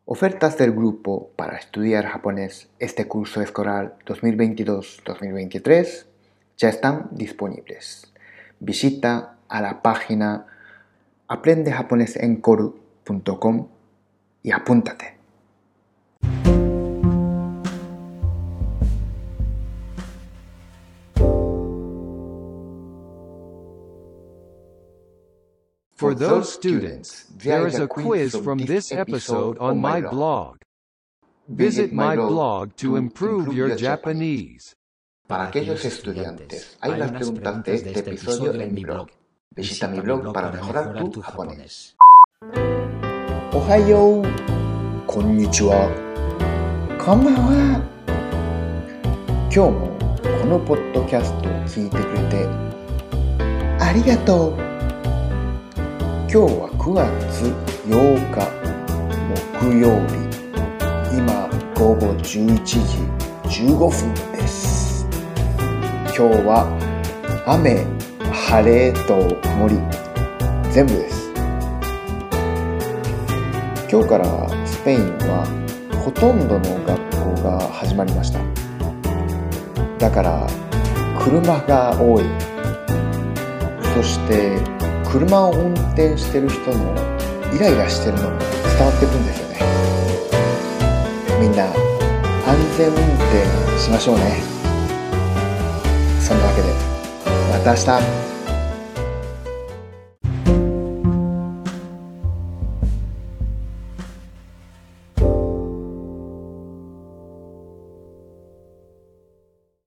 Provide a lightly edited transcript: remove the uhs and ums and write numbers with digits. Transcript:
Ofertas del grupo para estudiar japonés este curso escolar 2022-2023 ya están disponibles. Visita a la página aprendejaponesenkoru.com y apúntate. For those students, there is a quiz from this episode on my blog. Visit my blog to improve your Japanese. Para aquellos estudiantes, hay unas preguntas de este episodio en mi blog. Visita mi blog para mejorar tu japonés. Ohayo, konnichiwa, konbanwa. 今日もこのポッドキャストを聞いてくれてありがとう。今日は9月8日木曜日、今午後11時15分です。今日は雨、晴れと曇り全部です。今日からスペインはほとんどの学校が始まりました。だから車が多い。そして車を運転してる人もイライラしてるのも伝わってくるんですよね。みんな安全運転しましょうね。そんなわけでまた明日。